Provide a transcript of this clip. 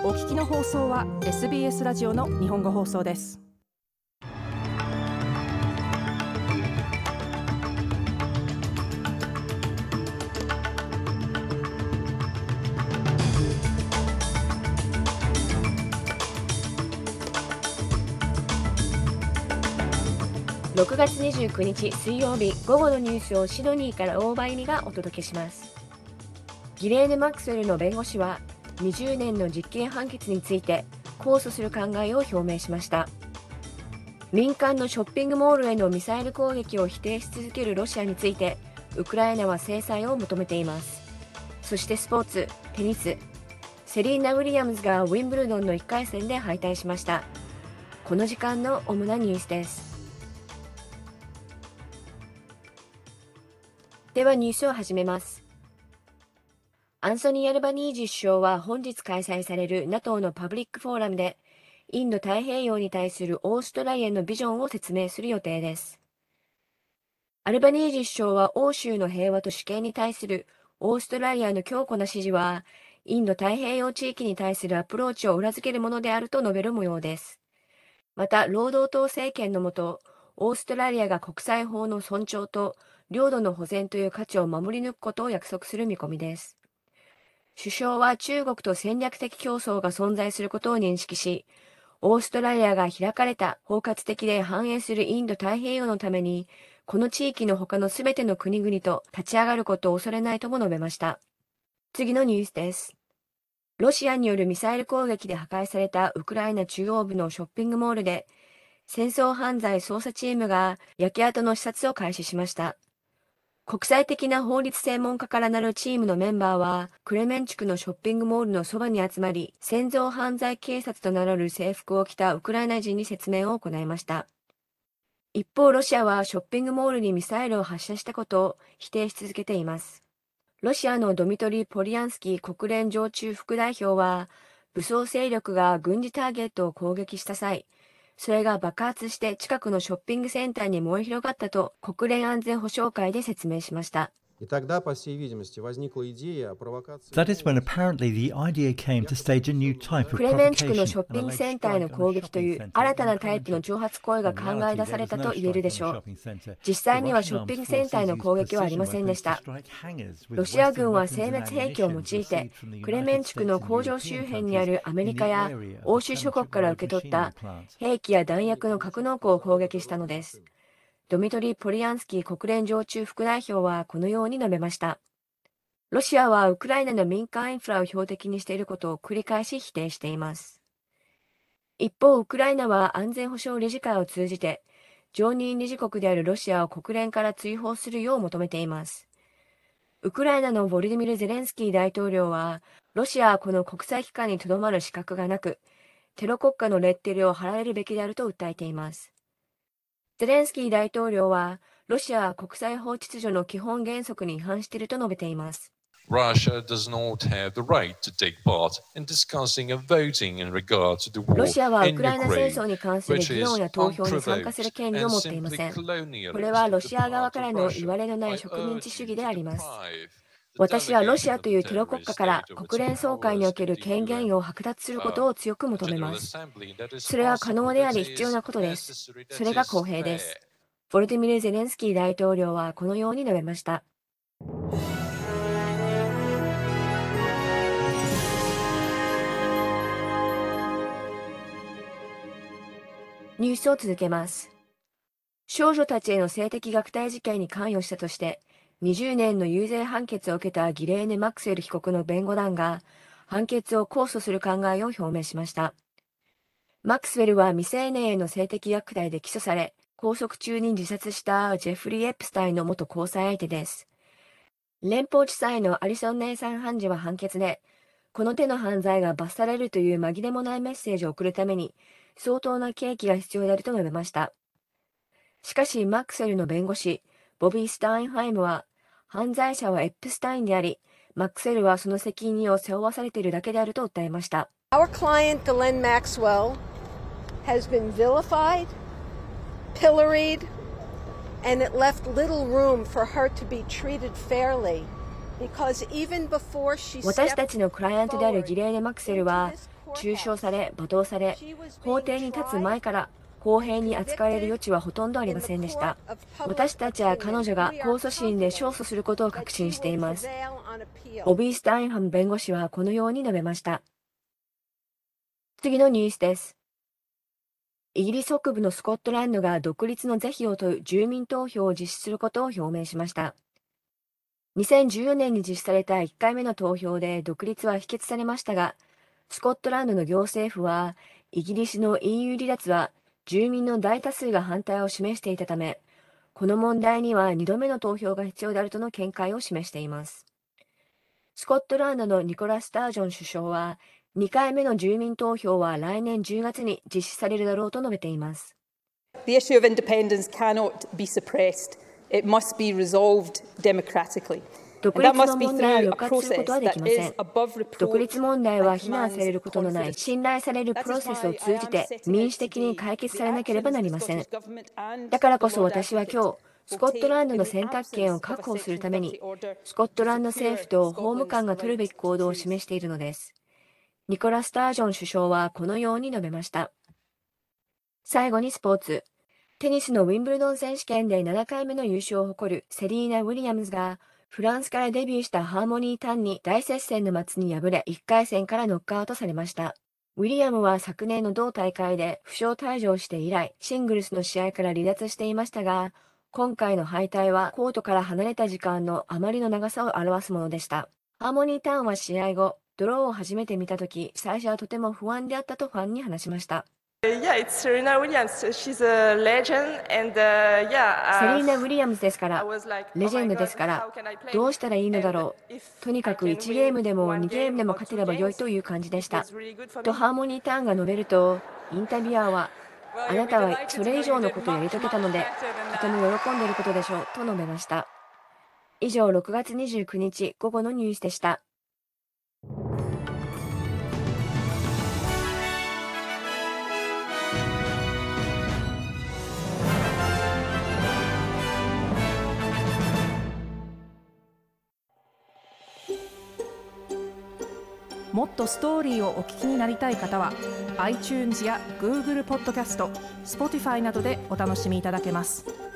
お聞きの放送は SBS ラジオの日本語放送です。 6月29日水曜日午後のニュースをシドニーから大場由美がお届けします。ギレーヌ・マックスウェルの弁護士は20年の実刑判決について控訴する考えを表明しました。民間のショッピングモールへのミサイル攻撃を否定し続けるロシアについてウクライナは制裁を求めています。そしてスポーツ、テニス、セリーナ・ウィリアムズがウィンブルドンの1回戦で敗退しました。この時間の主なニュースです。ではニュースを始めます。アンソニー・アルバニージー首相は本日開催される NATO のパブリックフォーラムでインド太平洋に対するオーストラリアのビジョンを説明する予定です。アルバニージー首相は欧州の平和と主権に対するオーストラリアの強固な支持はインド太平洋地域に対するアプローチを裏付けるものであると述べる模様です。また、労働党政権のもと、オーストラリアが国際法の尊重と領土の保全という価値を守り抜くことを約束する見込みです。首相は中国と戦略的競争が存在することを認識し、オーストラリアが開かれた包括的で繁栄するインド太平洋のために、この地域の他のすべての国々と立ち上がることを恐れないとも述べました。次のニュースです。ロシアによるミサイル攻撃で破壊されたウクライナ中央部のショッピングモールで、戦争犯罪捜査チームが焼け跡の視察を開始しました。国際的な法律専門家からなるチームのメンバーは、クレメンチュクのショッピングモールのそばに集まり、戦争犯罪警察と名乗る制服を着たウクライナ人に説明を行いました。一方、ロシアはショッピングモールにミサイルを発射したことを否定し続けています。ロシアのドミトリー・ポリアンスキー国連常駐副代表は、武装勢力が軍事ターゲットを攻撃した際、それが爆発して近くのショッピングセンターに燃え広がったと国連安全保障会で説明しました。 That is when apparently the idea came to stage a new type of クレメンチュクのショッピングセンターへの攻撃という新たなタイプの挑発行為が考え出されたと言えるでしょう。実際にはショッピングセンターへの攻撃はありませんでした。ロシア軍は精密兵器を用いてクレメンチュクの工場周辺にあるアメリカや欧州諸国から受け取った兵器や弾薬の格納庫を攻撃したのです。ドミトリー・ポリアンスキー国連常駐副代表はこのように述べました。ロシアはウクライナの民間インフラを標的にしていることを繰り返し否定しています。一方、ウクライナは安全保障理事会を通じて、常任理事国であるロシアを国連から追放するよう求めています。ウクライナのボルディミル・ゼレンスキー大統領は、ロシアはこの国際機関にとどまる資格がなく、テロ国家のレッテルを貼られるべきであると訴えています。ゼレンスキー大統領は、ロシアは国際法秩序の基本原則に違反していると述べています。 Russia does not have the right to take part in discussing and voting in regard to the war ロシアはウ in クライナ戦争 Ukraine, に関する which 議論 is や投票に参加する unprovoked 権利を and 持っていま simply せん。こ colonialist れはロ on the シア側 part から of の Russia. 言われのな I い植民地主義 urge で you あ to ります。 deprive the 私はロシ delegation アと of いう the テロ国 terrorist 家から state of its 国連総会に powers おけ in る the 権限 UN を剥奪することを強く求めま General す。 Assembly that is それは可能 possible, であり that 必要な is ことです。 necessary, そ that れが is 公平で fair. す。ボルディミル・ゼレンスキー大統領はこのように述べました。ニュースを続けます。少女たちへの性的虐待事件に関与したとして、20年の有罪判決を受けたギレーネ・マックスウェル被告の弁護団が、判決を控訴する考えを表明しました。マックスウェルは未成年への性的虐待で起訴され、拘束中に自殺したジェフリー・エプスタインの元交際相手です。連邦地裁のアリソン・ネイサン判事は判決で、この手の犯罪が罰されるという紛れもないメッセージを送るために、相当な刑期が必要であると述べました。しかし、マックスウェルの弁護士、ボビー・スタインハイムは、犯罪者はエップスタインであり、マックスウェルはその責任を背負わされているだけであると訴えました。 Our client, Ghislaine Maxwell, has been vilified, pilloried, and it left little room for her to be treated fairly Because even before she 私 stepped たちのクライアントであるギレーネ・マクセルは中傷され罵倒され、法廷に立つ前から公平に扱われる余地はほとんどありませんでした。私たちは彼女が控訴審で勝訴することを確信しています。ボビー・スタインハム弁護士はこのように述べました。次のニュースです。イギリス北部のスコットランドが独立の是非を問う住民投票を実施することを表明しました。2014年に実施された1回目の投票で独立は否決されましたが、スコットランドの行政府は、イギリスの EU 離脱は住民の大多数が反対を示していたため、この問題には2度目の投票が必要であるとの見解を示しています。スコットランドのニコラス・スタージョン首相は、2回目の住民投票は来年10月に実施されるだろうと述べています。 The issue of independence cannot be suppressed. It must be resolved democratically. 独立の問題を抑圧することはできません。独立問題は非難されることのない信頼されるプロセスを通じて民主的に解決されなければなりません。だからこそ私は今日、スコットランドの選択権を確保するために、スコットランド政府と法務官が取るべき行動を示しているのです。ニコラ・スタージョン首相はこのように述べました。最後にスポーツ。テニスのウィンブルドン選手権で7回目の優勝を誇るセリーナ・ウィリアムズが、フランスからデビューしたハーモニー・タンに大接戦の末に敗れ、1回戦からノックアウトされました。ウィリアムは昨年の同大会で負傷退場して以来、シングルスの試合から離脱していましたが、今回の敗退はコートから離れた時間のあまりの長さを表すものでした。ハーモニー・タンは試合後、ドローを初めて見たとき、最初はとても不安であったとファンに話しました。 Yeah, it's Serena Williams. She's a legend and yeah. セリーナ・ウィリアムズですから、レジェンドですから、どうしたらいいのだろう。とにかく1ゲームでも2ゲームでも勝てれば良いという感じでした。とハーモニー・ターンが述べると、インタビュアーは、あなたはそれ以上のことをやり遂げたので、とても喜んでいることでしょう、と述べました。以上、6月29日午後のニュースでした。 もっとストーリーをお聞きになりたい方は iTunes や Google ポッドキャスト、Spotify などでお楽しみいただけます。